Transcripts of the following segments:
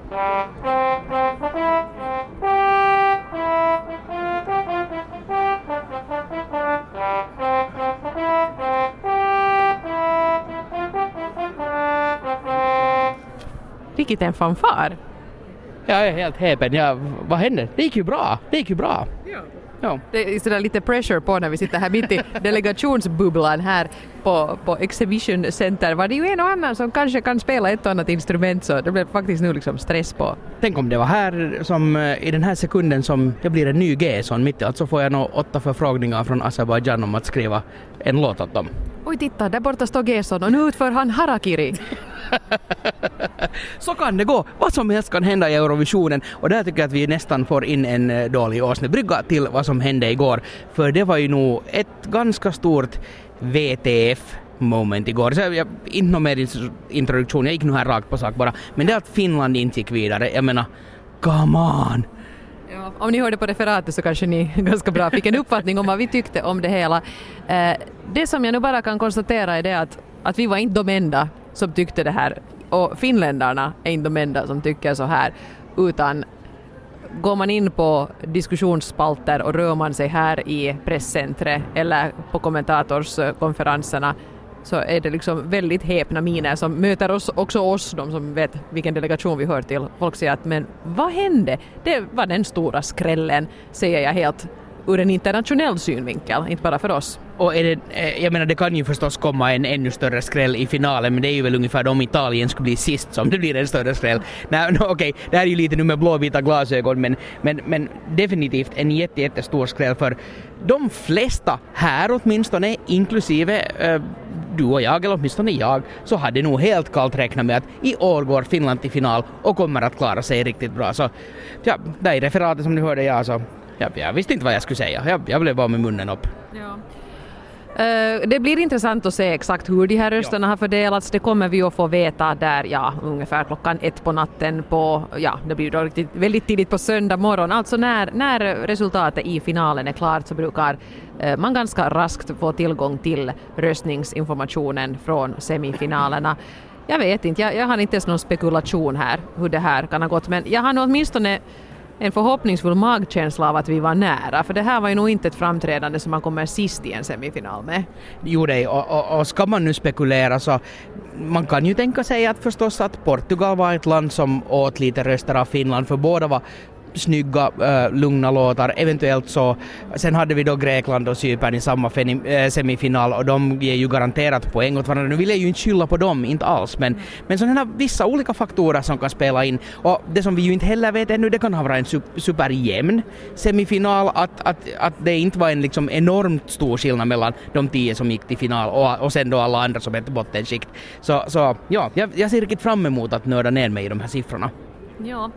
Riktigt en fanfar. Jag är helt häpen. Vad hände? Det gick ju bra. Ja. Det är sådär lite pressure på när vi sitter här mitt i delegationsbubblan här på Exhibition Center. Var det ju en och annan som kanske kan spela ett och annat instrument, så det blev faktiskt nu liksom stress på. Tänk om det var här som i den här sekunden som jag blir en ny G-son mitt i allt, så får jag nog 8 förfrågningar från Azerbaijan om att skriva en låt åt dem. Oj, titta, där borta står Gerson och nu utför han harakiri. Så kan det gå. Vad som helst kan hända i Eurovisionen, och där tycker jag att vi nästan får in en dålig åsnebrygga till vad som hände igår. För det var ju nog ett ganska stort VTF-moment igår. Så jag inte någon mer introduktion, jag gick nu här rakt på sak bara. Men det att Finland inte gick vidare, jag menar, come on! Ja, om ni hörde på referatet så kanske ni ganska bra fick en uppfattning om vad vi tyckte om det hela. Det som jag nu bara kan konstatera är det att vi var inte de enda som tyckte det här. Och finländarna är inte de enda som tycker så här. Utan går man in på diskussionsspalter och rör man sig här i presscentret eller på kommentatorskonferenserna, så är det liksom väldigt häpna miner som möter oss, de som vet vilken delegation vi hör till. Folk säger att men vad hände? Det var den stora skrällen, säger jag helt ur en internationell synvinkel, inte bara för oss. Och jag menar, det kan ju förstås komma en ännu större skräll i finalen, men det är ju väl ungefär om Italien skulle bli sist som det blir en större skräll. Okej, det här är ju lite nu med blåvita glasögon, men definitivt en jättestor skräll för de flesta här åtminstone, inklusive du och jag, eller åtminstone jag, så hade nog helt kallt räknat med att i år går Finland till final och kommer att klara sig riktigt bra. Så ja, där i referatet som du hörde jag visste inte vad jag skulle säga. Jag blev bara med munnen upp. Ja. Det blir intressant att se exakt hur de här rösterna har fördelats. Det kommer vi att få veta där ungefär 1:00 på natten det blir då väldigt tidigt på söndag morgon. Alltså när resultatet i finalen är klart så brukar man ganska raskt få tillgång till röstningsinformationen från semifinalerna. Jag vet inte, jag har inte ens någon spekulation här hur det här kan ha gått, men jag har nog åtminstone en förhoppningsfull magkänsla av att vi var nära, för det här var ju nog inte ett framträdande som man kommer sist i en semifinal med. Jo, och ska man nu spekulera så man kan ju tänka sig att förstås att Portugal var ett land som åt lite röster av Finland, för båda var snygga, lugna låtar, eventuellt så. Sen hade vi då Grekland och Cypern i samma semifinal och de ger ju garanterat poäng åt varandra. Nu vill jag ju inte skylla på dem, inte alls, men sådana här vissa olika faktorer som kan spela in, och det som vi ju inte heller vet ännu, det kan ha varit en superjämn semifinal, att det inte var en liksom enormt stor skillnad mellan de 10 som gick till final och sen då alla andra som är till bottenskikt. Så ja, jag ser riktigt fram emot att nörda ner mig i de här siffrorna. Ja.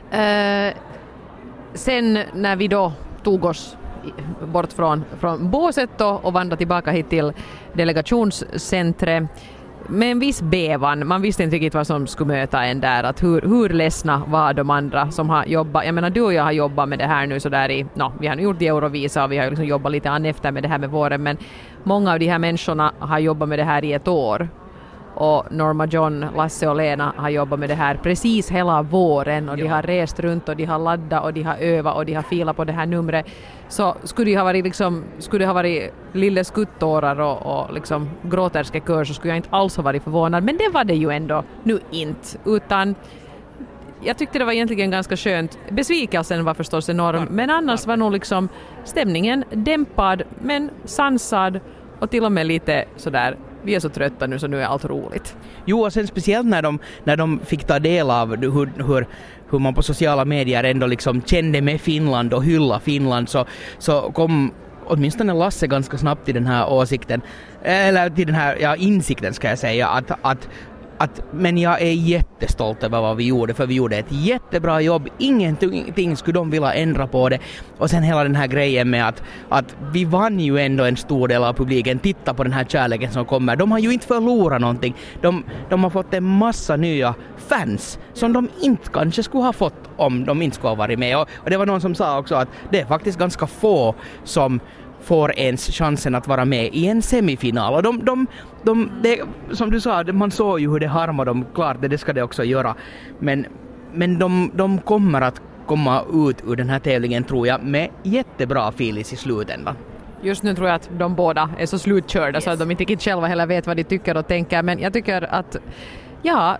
Sen när vi då tog oss bort från båset och vandrade tillbaka hit till delegationscentret med en viss bävan. Man visste inte riktigt vad som skulle möta en där. Att hur ledsna var de andra som har jobbat. Jag menar, du och jag har jobbat med det här nu så där vi har gjort Eurovisa och vi har liksom jobbat lite an efter med det här med våren. Men många av de här människorna har jobbat med det här i ett år. Och Norma John, Lasse och Lena har jobbat med det här precis hela våren och de har rest runt och de har laddat och de har övat och de har filat på det här numret. Så skulle det ha varit lille skuttårar och liksom gråterskekör, så skulle jag inte alls ha varit förvånad. Men det var det ju ändå nu inte, utan jag tyckte det var egentligen ganska skönt. Besvikelsen var förstås enorm, men annars var nog liksom stämningen dämpad men sansad och till och med lite sådär, vi är så trötta nu så nu är allt roligt. Jo, och sen speciellt när de fick ta del av hur man på sociala medier ändå liksom kände med Finland och hylla Finland, så kom åtminstone Lasse ganska snabbt till den här åsikten, eller till den här insikten ska jag säga, men jag är jättestolt över vad vi gjorde, för vi gjorde ett jättebra jobb. Ingenting skulle de vilja ändra på det. Och sen hela den här grejen med att vi vann ju ändå en stor del av publiken. Titta på den här kärleken som kommer. De har ju inte förlorat någonting. De har fått en massa nya fans som de inte kanske skulle ha fått om de inte skulle ha varit med. Och det var någon som sa också att det är faktiskt ganska få som får ens chansen att vara med i en semifinal. Och det, som du sa, man såg ju hur det harmar dem, klart det ska det också göra. Men men de kommer att komma ut ur den här tävlingen, tror jag, med jättebra filis i slutändan. Just nu tror jag att de båda är så slutkörda så att de inte riktigt själva heller vet vad de tycker och tänker. Men jag tycker att, ja,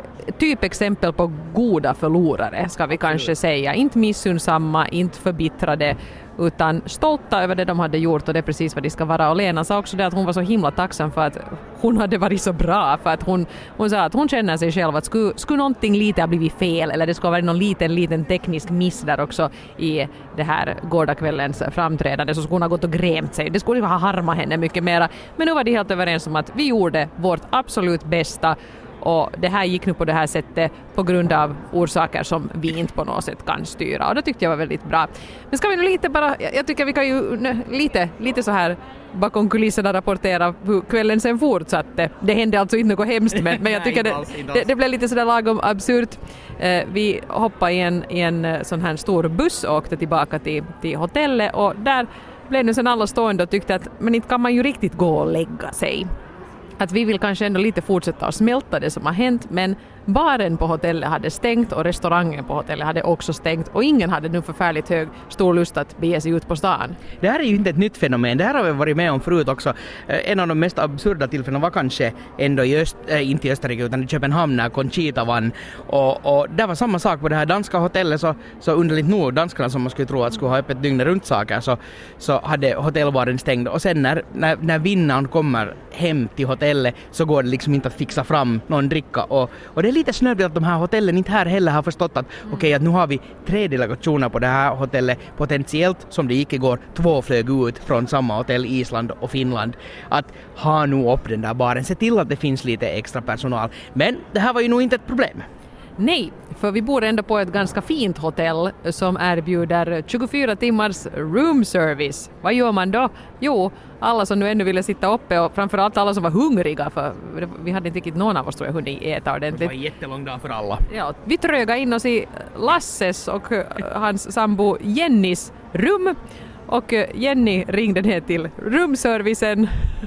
typexempel på goda förlorare ska vi kanske säga. Inte missunnsamma, inte förbittrade, utan stolta över det de hade gjort, och det är precis vad de ska vara. Och Lena sa också det att hon var så himla tacksam för att hon hade varit så bra, för att hon sa att hon känner sig själv att skulle någonting lite ha blivit fel, eller det skulle ha varit någon liten teknisk miss där också i det här gårdagskvällens framträdande, så skulle hon ha gått och grämt sig. Det skulle ha harmat henne mycket mera. Men nu var de helt överens om att vi gjorde vårt absolut bästa, och det här gick nu på det här sättet på grund av orsaker som vi inte på något sätt kan styra. Och det tyckte jag var väldigt bra. Men ska vi nu lite bara, jag tycker vi kan ju lite så här bakom kulisserna rapportera hur kvällen sen fortsatte. Det hände alltså inte något hemskt, men jag tycker det blev lite sådär lagom absurt. Vi hoppade i en sån här stor buss och åkte tillbaka till hotellet, och där blev nu sen alla stående och tyckte att men inte kan man ju riktigt gå och lägga sig. Att vi vill kanske ändå lite fortsätta att smälta det som har hänt, men baren på hotellet hade stängt och restaurangen på hotellet hade också stängt, och ingen hade nu förfärligt stor lust att bege sig ut på stan. Det här är ju inte ett nytt fenomen, det här har vi varit med om förut också. En av de mest absurda tillfällena var kanske ändå inte i Österrike utan i Köpenhamn när Conchita vann, och där var samma sak på det här danska hotellet, så underligt nog danskarna som man skulle tro att skulle ha öppet dygnet runt saker, så hade hotellbaren stängd, och sen när vinnaren kommer hem till hotellet så går det liksom inte att fixa fram någon dricka, och det är lite snöbligt att de här hotellen inte här heller har förstått att okej, att nu har vi 3 delegationer på det här hotellet, potentiellt som det gick igår, 2 flög ut från samma hotell, Island och Finland, att ha nu upp den där baren, se till att det finns lite extra personal. Men det här var ju nog inte ett problem. Nej, för vi bor ändå på ett ganska fint hotell som erbjuder 24 timmars room service. Vad gör man då? Jo, alla som nu ännu ville sitta uppe, och framförallt alla som var hungriga, för vi hade inte riktigt någon av oss tror jag hunnit äta ordentligt. Det var en jättelång dag för alla. Ja, vi trögade in oss i Lasses och hans sambo Jennys rum, och Jenny ringde ner till rumservicen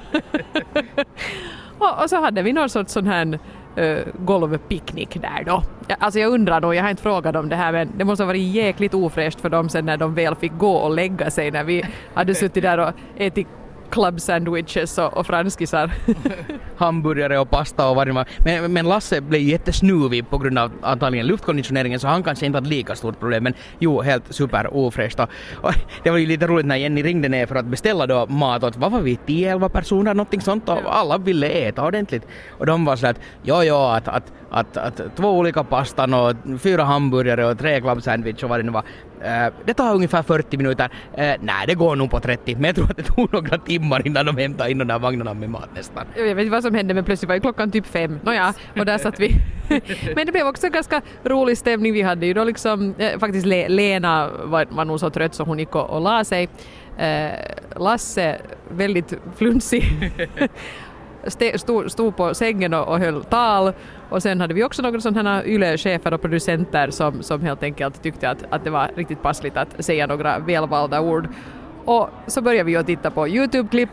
och så hade vi någon sorts sån här golvpicknick där då. Alltså jag undrar då, jag har inte frågat om det här, men det måste ha varit jäkligt ofräscht för dem sen när de väl fick gå och lägga sig, när vi hade suttit där och ätit club sandwiches och franskisar. Hamburgare och pasta och vad det var. Men Lasse blev jättesnuvig på grund av antagligen luftkonditioneringen, så han kanske inte hade lika stort problem, men jo, helt super ofräscht. Och det var ju lite roligt när Jenny ringde ner för att beställa då mat åt, vad var vi, 10-11 personer, någonting sånt, och alla ville äta ordentligt. Och de var så att 2 olika pastan och 4 hamburgare och 3 club sandwich och vad det nu var. Det tar ungefär 40 minuter. Nej, det går nog på 30. Men jag tror att det tog några timmar innan de hämtade in de där vagnarna med mat nästan. Jag vet inte vad som hände, men plötsligt var klockan typ 5. Nåja, och där satt vi. Men det blev också en ganska rolig stämning. Vi hade ju då liksom, faktiskt Lena var nog så trött så hon gick och la sig. Lasse, väldigt flunsig. Stod på sängen och höll tal, och sen hade vi också några sådana YLE-chefer och producenter som helt enkelt tyckte att det var riktigt passligt att säga några välvalda ord. Och så började vi att titta på YouTube-klipp.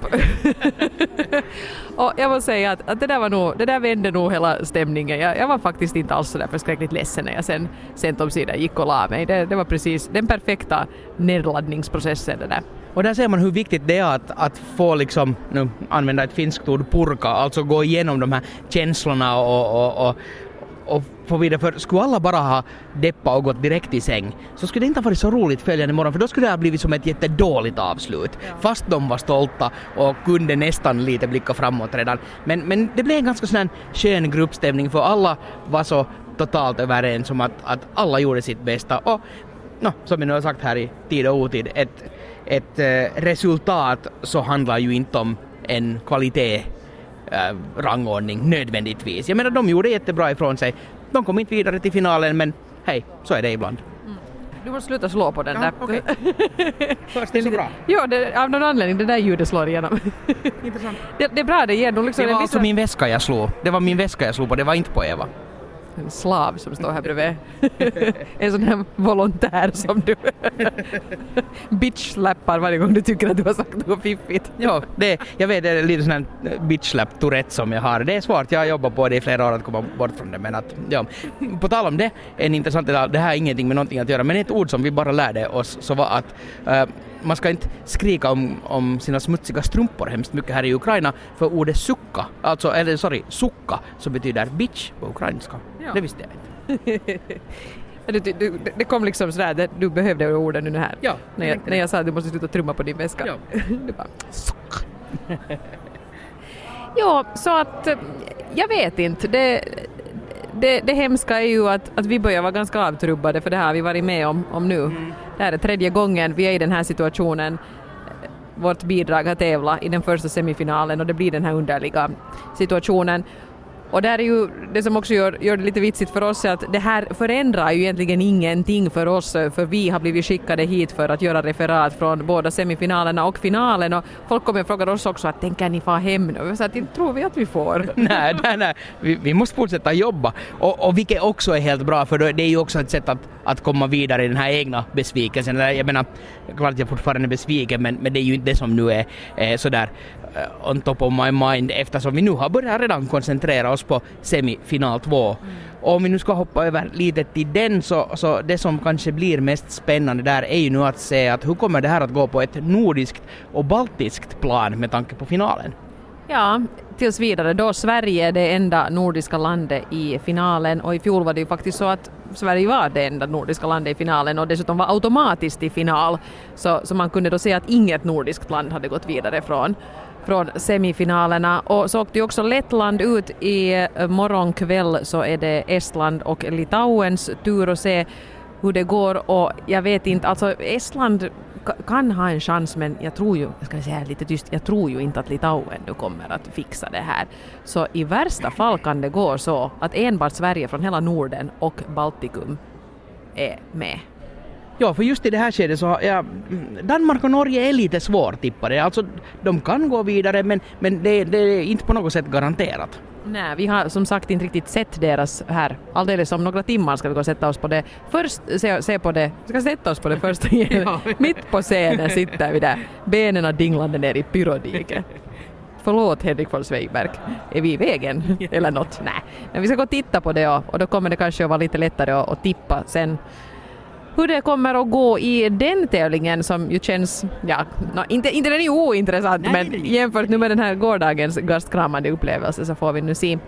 Och jag måste säga att det där vände nog hela stämningen. Jag var faktiskt inte alls så där förskräckligt ledsen när jag sen sent om sidan gick och la mig. Det var precis den perfekta nedladdningsprocessen det där. Och där ser man hur viktigt det är att få liksom, nu använda ett finskt ord, purka, alltså gå igenom de här känslorna och få vidare. För skulle alla bara ha deppa och gått direkt i säng, så skulle det inte ha varit så roligt följande morgon, för då skulle det ha blivit som ett jättedåligt avslut. Ja. Fast de var stolta och kunde nästan lite blicka framåt redan. Men det blev en ganska sån här skön gruppstämning, för alla var så totalt överens om att alla gjorde sitt bästa. Och som vi nu har sagt här i tid och otid, ett resultat så handlar ju inte om en kvalitet rangordning nödvändigtvis. Jag menar, de gjorde jättebra ifrån sig. De kom inte vidare till finalen, men hej, så är det ibland. Du måste sluta slå på den där. Okay. Först är det så bra. Ja, av någon anledning, det där ljudet slår igenom. Intressant. Det är bra, det ger nog liksom... Det var alltså min väska jag slog. Det var min väska jag slog på, det var inte på Eva. en slav som står här bredvid. En sån här volontär som du bitch-slappar varje gång du tycker att du har sagt något fiffigt. Ja, jag vet, det är lite sån här bitch-slap-tourette som jag har. Det är svårt, jag har jobbat på det i flera år att komma bort från det. Men att, ja, på tal om det, en intressant detalj, det här har ingenting med någonting att göra, men ett ord som vi bara lärde oss så var att man ska inte skrika om sina smutsiga strumpor hemskt mycket här i Ukraina, för ordet sukka, sukka, så betyder bitch på ukrainska. Ja. Det visste jag inte. Det kom liksom sådär, du behövde orden nu här. Ja, när jag sa att du måste sluta trumma på din väska. Ja. Du bara, sukka. Ja, så att jag vet inte. Det hemska är ju att vi börjar vara ganska avtrubbade, för det här har vi varit med om nu. Det här är 3:e gången vi är i den här situationen. Vårt bidrag har tävlat i den första semifinalen och det blir den här underliga situationen. Och det är ju det som också gör det lite vitsigt för oss, är att det här förändrar ju egentligen ingenting för oss, för vi har blivit skickade hit för att göra referat från båda semifinalerna och finalen, och folk kommer och frågar oss också att tänker ni få hem nu? Så att inte tror vi att vi får. Nej. Vi måste fortsätta jobba, och vilket också är helt bra, för det är ju också ett sätt att komma vidare i den här egna besvikelsen. Jag menar, klart jag fortfarande är besviken, men det är ju inte det som nu är sådär on top of my mind, eftersom vi nu har börjat redan koncentrera oss på semifinal 2. Och om vi nu ska hoppa över lite till den, så det som kanske blir mest spännande där är ju nu att se att hur kommer det här att gå på ett nordiskt och baltiskt plan med tanke på finalen. Ja, tills vidare då Sverige är det enda nordiska landet i finalen, och i fjol var det ju faktiskt så att Sverige var det enda nordiska landet i finalen och dessutom var automatiskt i final, så man kunde då se att inget nordiskt land hade gått vidare från semifinalerna. Och så åkte ju också Lettland ut i morgonkväll, så är det Estland och Litauens tur att se hur det går, och jag vet inte, alltså Estland kan ha en chans, men jag tror ju, jag ska säga lite tyst, jag tror ju inte att Litauen nu kommer att fixa det här. Så i värsta fall kan det gå så att enbart Sverige från hela Norden och Baltikum är med. Ja, för just i det här skedet så Danmark och Norge är lite svårtippade. Alltså de kan gå vidare, men det är inte på något sätt garanterat. Nej, vi har som sagt inte riktigt sett deras här. Alldeles om några timmar ska vi gå och sätta oss på det. Först se på det. Vi ska sätta oss på det först. Mitt på scenen sitter vi där. Benen dinglande ner i pyrodiket. Förlåt Henrik von Zweigbergk. Är vi i vägen? Eller något? Nej. Men vi ska gå och titta på det, och då kommer det kanske att vara lite lättare att tippa sen hur det kommer att gå i den tävlingen, som ju känns, inte den är ju ointressant, men jämfört nu med den här gårdagens gastkramande upplevelse så får vi nu se.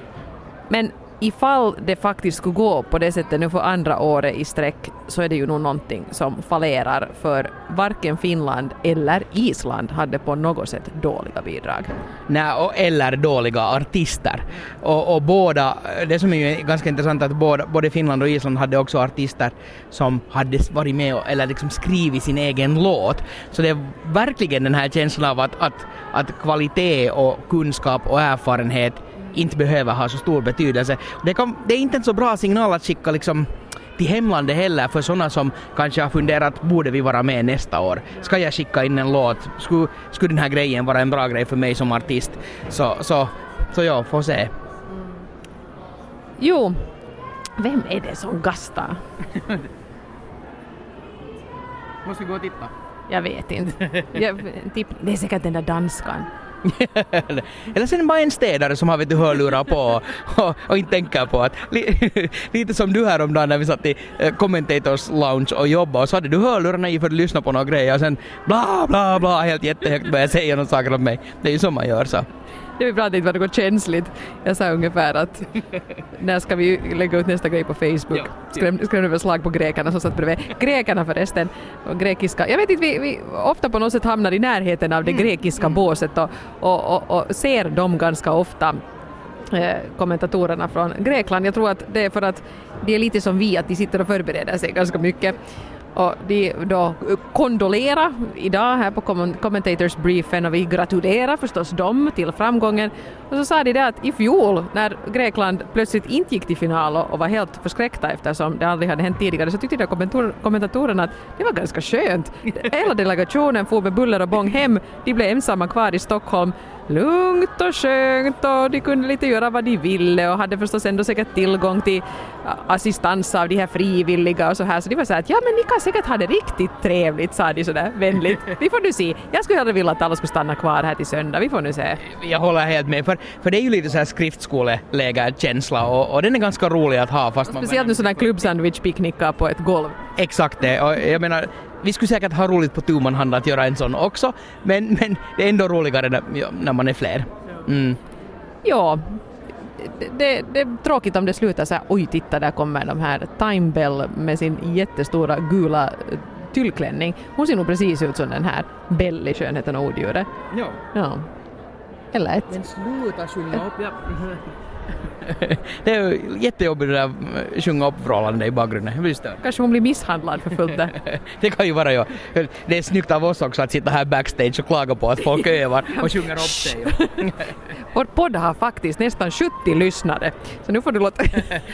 Men ifall det faktiskt skulle gå på det sättet nu för andra året i sträck, så är det ju nog någonting som fallerar, för varken Finland eller Island hade på något sätt dåliga bidrag. Nej, eller dåliga artister. Och båda, det som är ju ganska intressant, att både Finland och Island hade också artister som hade varit med eller liksom skrivit sin egen låt. Så det är verkligen den här känslan av att kvalitet och kunskap och erfarenhet inte behöver ha så stor betydelse. Det är inte en så bra signal att skicka liksom till hemlandet heller, för sådana som kanske har funderat, borde vi vara med nästa år? Ska jag skicka in en låt? Skulle den här grejen vara en bra grej för mig som artist? Så jag får se. Jo, vem är det som gastar? Måste vi gå och titta? Jag vet inte. Det är säkert den där danskan. Eller sen bara en städare som har hörlurar på och inte tänker på att lite som du här om dagen när vi satt i Commentators Lounge och jobbade, och så hade du hörlurarna i för att lyssna på några grejer och sen bla bla bla helt jättehögt började säga några saker om mig. Det är ju som man gör så. Det vi pratade inte var något känsligt. Jag sa ungefär att när ska vi lägga ut nästa grej på Facebook? Skrämde väl slag på grekerna som satt bredvid. Grekerna förresten, och grekiska. Jag vet inte, vi ofta på något sätt hamnar i närheten av det grekiska båset och ser dem ganska ofta, kommentatorerna från Grekland. Jag tror att det är för att det är lite som vi, att de sitter och förbereder sig ganska mycket. Och de då kondolerar idag här på Commentators Briefen, och vi gratulerar förstås dem till framgången. Och så sa de det att i fjol när Grekland plötsligt inte gick till final och var helt förskräckta eftersom det aldrig hade hänt tidigare, så tyckte kommentatorerna att det var ganska skönt. Hela delegationen får med buller och bång hem. De blev ensamma kvar i Stockholm. lugnt och skönt och de kunde lite göra vad de ville och hade förstås ändå säkert tillgång till assistans av de här frivilliga och så här. Så de var så här att ja, men ni kan säkert ha det riktigt trevligt, sa de sådär vänligt. Vi får nu se. Jag skulle hellre vilja att alla skulle stanna kvar här till söndag. Vi får nu se. Jag håller helt med, för det är ju lite så här skriftskolelägerkänsla och den är ganska rolig att ha. Fast speciellt nu sådana klubbsandwich-picknickar på ett golv. Exakt det, och jag menar, vi skulle säkert ha roligt på tuman hand att göra en sån också, men det är ändå roligare när man är fler. Mm. Ja, det är tråkigt om det slutar så här, oj titta där kommer de här Time Bell med sin jättestora gula tyllklänning. Hon ser nog precis ut som den här Bell i Skönheten och odjuret. Ja. Eller ett. Men sluta sjunga upp, ja. Det är ju jättejobbigt det där sjunga upp förhållande i bakgrunden. Visst det? Kanske hon blir misshandlad för fullt där. Det kan ju vara, ja. Det är snyggt av oss också att sitta här backstage och klaga på att folk övar och sjunger upp sig. Vår podd har faktiskt nästan 70 lyssnare. Så nu får du låta.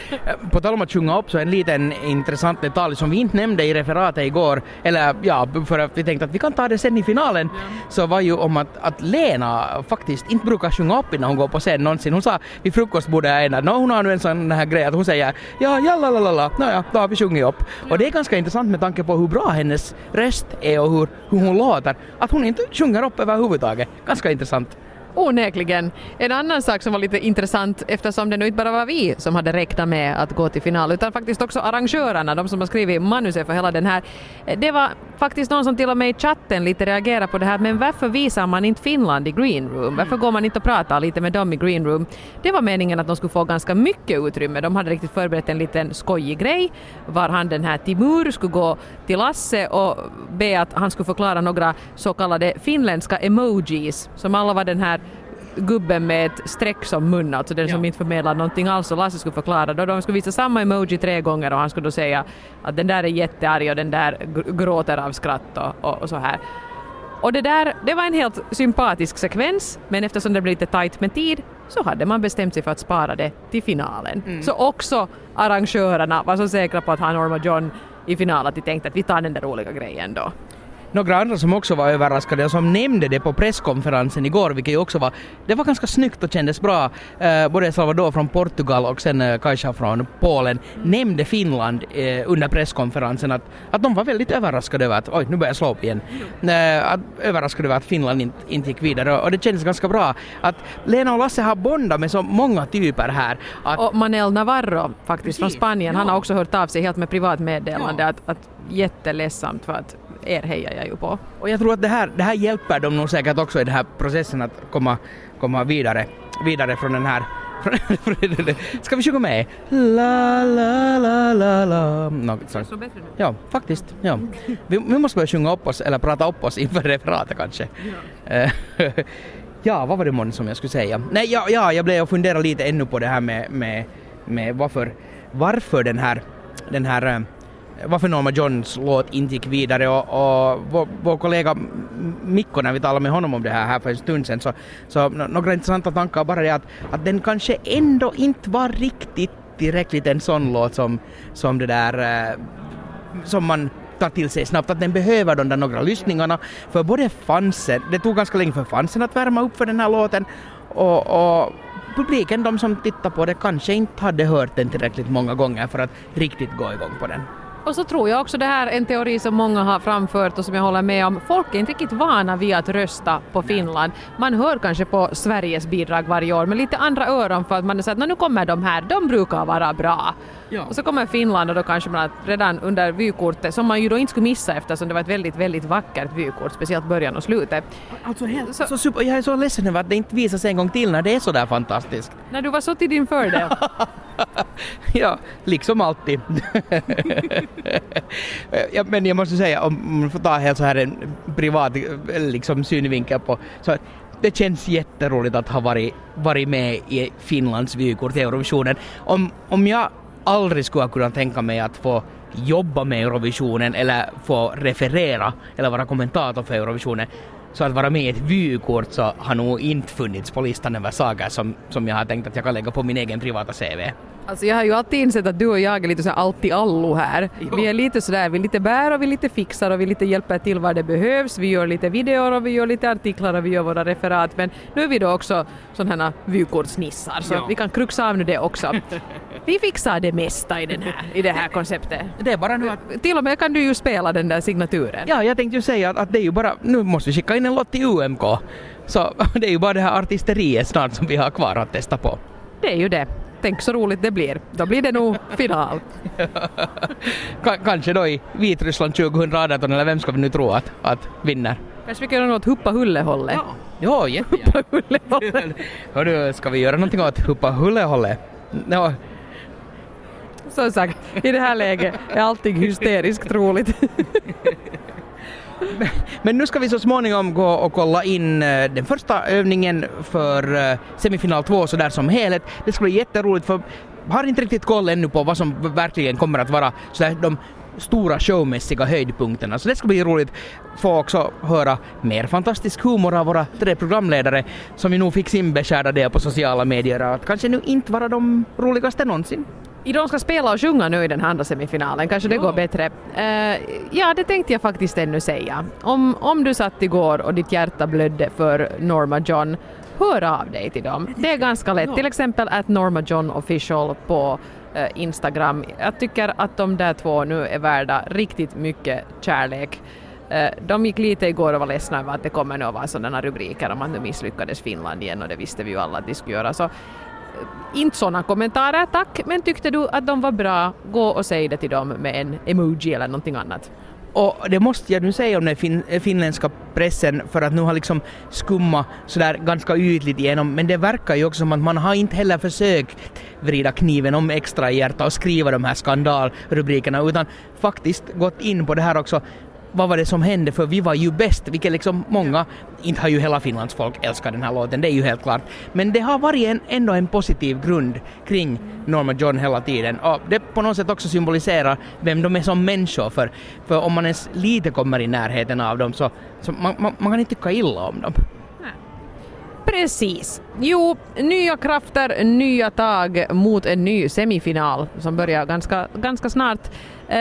På tal om att sjunga upp så en liten intressant detalj som vi inte nämnde i referatet igår, eller ja, för att vi tänkte att vi kan ta det sen i finalen, så var ju om att Lena faktiskt inte brukar sjunga upp innan hon går på scen någonsin. Hon sa vid frukostbordet hon har nu en sån här grej att hon säger ja, lalalala, naja, då har vi sjungit upp. Och det är ganska intressant med tanke på hur bra hennes röst är och hur hon låter, att hon inte sjunger upp överhuvudtaget. Ganska intressant. Onekligen. En annan sak som var lite intressant, eftersom det nu inte bara var vi som hade räknat med att gå till final, utan faktiskt också arrangörerna, de som har skrivit manuset för hela den här. Det var faktiskt någon som till och med i chatten lite reagerade på det här, men varför visar man inte Finland i Green Room? Varför går man inte och pratar lite med dem i Green Room? Det var meningen att de skulle få ganska mycket utrymme. De hade riktigt förberett en liten skojig grej, var han den här Timur skulle gå till Lasse och be att han skulle förklara några så kallade finländska emojis, som alla var den här gubben med ett streck som mun, alltså den som inte förmedlar någonting alls, och Lasse skulle förklara då. De skulle visa samma emoji 3 gånger och han skulle då säga att den där är jättearg och den där gråter av skratt och så här. Och det var en helt sympatisk sekvens, men eftersom det blev lite tajt med tid så hade man bestämt sig för att spara det till finalen. Så också arrangörerna var så säkra på att han Norma John i finalen att de tänkte att vi tar den där roliga grejen då. Några andra som också var överraskade och som nämnde det på presskonferensen igår, vilket ju också det var ganska snyggt och kändes bra. Både Salvador från Portugal och sen Kajsa från Polen nämnde Finland under presskonferensen att de var väldigt överraskade över att, oj nu börjar jag slå upp igen, överraskade över att Finland inte gick vidare, och det kändes ganska bra att Lena och Lasse har bondat med så många typer här. Och Manel Navarro faktiskt från Spanien, han har också hört av sig helt med privat meddelande att jätteledsamt för att er hejar jag ju på. Och jag tror att det här hjälper dem nog säkert också i den här processen att komma vidare från den här. Ska vi sjunga med? La la la la la. Ja, faktiskt. Ja. Vi måste börja sjunga upp oss eller prata upp oss inför referatet kanske. Ja, vad var det månne som jag skulle säga? Nej, jag blev och funderade lite ännu på det här med varför den här varför Norma Johns låt inte gick vidare, och vår kollega Mikko, när vi talade med honom om det här för en stund sedan, så några intressanta tankar bara det att den kanske ändå inte var riktigt tillräckligt en sån låt som det där som man tar till sig snabbt, att den behöver de där några lyssningarna, för både fansen, det tog ganska länge för fansen att värma upp för den här låten, och publiken, de som tittar på det, kanske inte hade hört den tillräckligt många gånger för att riktigt gå igång på den. Och så tror jag också det här en teori som många har framfört och som jag håller med om. Folk är inte riktigt vana vid att rösta på Finland. Man hör kanske på Sveriges bidrag varje år med lite andra öron, för att man säger att nu kommer de här, de brukar vara bra. Ja. Och så kommer Finland och då kanske man redan under vykortet, som man ju då inte skulle missa eftersom det var ett väldigt, väldigt vackert vykort, speciellt början och slutet. Alltså super, jag är så ledsen över att det inte visas en gång till när det är så där fantastiskt. När du var så till din fördel. Ja, liksom alltid. Ja, men jag måste säga, om man får ta helt så här en privat liksom synvinkel på, så det känns jätteroligt att ha varit med i Finlands vykort i Eurovisionen. Om jag aldrig skulle kunna tänka mig att få jobba med Eurovisionen eller få referera eller vara kommentator för Eurovisionen, så att vara med i ett vykort så har nog inte funnits på listan över saker som jag har tänkt att jag kan lägga på min egen privata CV. Alltså jag har ju alltid insett att du och jag är lite så alltid allo här. Jo. Vi är lite sådär, vi lite bär och vi lite fixar och vi lite hjälper till vad det behövs. Vi gör lite videor och vi gör lite artiklar och vi gör våra referat. Men nu är vi då också sådana här vykortsnissar så vi kan kruxa av nu det också. Vi fixar det mesta i det här konceptet. Det är bara nu att... Till och med kan du ju spela den där signaturen. Ja, jag tänkte ju säga att det är ju bara... Nu måste vi skicka in en låt till UMK. Så det är ju bara det här artisteriet snart som vi har kvar att testa på. Det är ju det. Tänk så roligt det blir. Då blir det nog final. Kanske då i Vitryssland 2018 eller vem ska vi nu tro att vinner? Kanske vi kan göra något huppa hulle-hålle. Ja, jättegärna. Huppa hulle-hålle. Hörru, ska vi göra någonting åt huppa hulle-hålle? Ja. Som sagt, i det här läget är allting hysteriskt roligt. Men nu ska vi så småningom gå och kolla in den första övningen för semifinal 2 så där som helhet. Det ska bli jätteroligt för jag har inte riktigt koll ännu på vad som verkligen kommer att vara så där, de stora showmässiga höjdpunkterna. Så det ska bli roligt få också höra mer fantastisk humor av våra 3 programledare som vi nog fick sin beskärda det på sociala medier att kanske nu inte vara de roligaste någonsin. De ska spela och sjunga nu i den andra semifinalen, kanske det går bättre. Ja, det tänkte jag faktiskt ännu säga. Om du satt igår och ditt hjärta blödde för Norma John, hör av dig till dem. Det är ganska lätt. Till exempel @NormaJohnOfficial på Instagram. Jag tycker att de där 2 nu är värda riktigt mycket kärlek. De gick lite igår och var ledsna över att det kommer nu att vara sådana rubriker om att nu misslyckades Finland igen och det visste vi ju alla att de skulle göra. Så inte sådana kommentarer, tack. Men tyckte du att de var bra, gå och säg det till dem med en emoji eller någonting annat. Och det måste jag nu säga om den finländska pressen för att nu har liksom skumma sådär ganska ytligt igenom. Men det verkar ju också som att man har inte heller försökt vrida kniven om extra i hjärta och skriva de här skandalrubrikerna utan faktiskt gått in på det här också. Vad var det som hände för vi var ju bäst, vilket liksom många, inte har ju hela Finlands folk älskat den här låten, det är ju helt klart. Men det har varit ändå en positiv grund kring Norma John hela tiden. Och det på något sätt också symboliserar vem de är som människor. För om man ens lite kommer i närheten av dem så man kan inte tycka illa om dem. Precis. Jo, nya krafter, nya tag mot en ny semifinal som börjar ganska snart.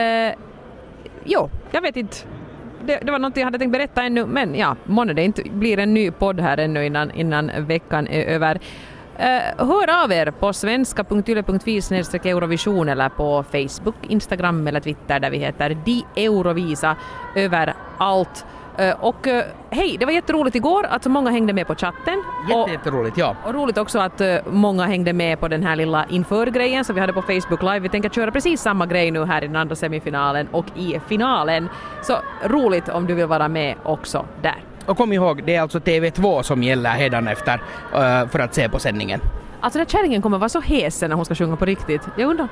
Jo, jag vet inte. Det var något jag hade tänkt berätta ännu, men ja, månne det inte blir en ny podd här ännu innan veckan är över. Hör av er på svenska.yle.fi/Eurovision eller på Facebook, Instagram eller Twitter där vi heter Di Eurovisa överallt. Och hej, det var jätteroligt igår att så många hängde med på chatten. Jätteroligt, ja. Och roligt också att många hängde med på den här lilla införgrejen som vi hade på Facebook Live. Vi tänker köra precis samma grej nu här i den andra semifinalen och i finalen. Så roligt om du vill vara med också där. Och kom ihåg, det är alltså TV2 som gäller hädanefter för att se på sändningen. Alltså den här kärringen kommer vara så hes när hon ska sjunga på riktigt. Jag undrar.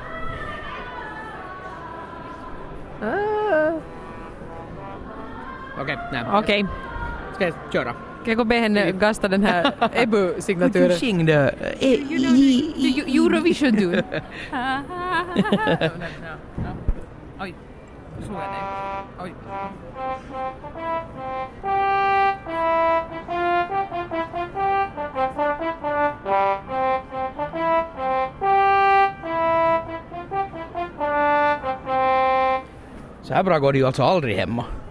Okej. Ska jag köra? Kan jag gå be henne gasta den här Ebu-signaturen? Du singde Eurovision du. Oj, slår jag dig. Oj. Så här bra går det ju alltså aldrig hemma.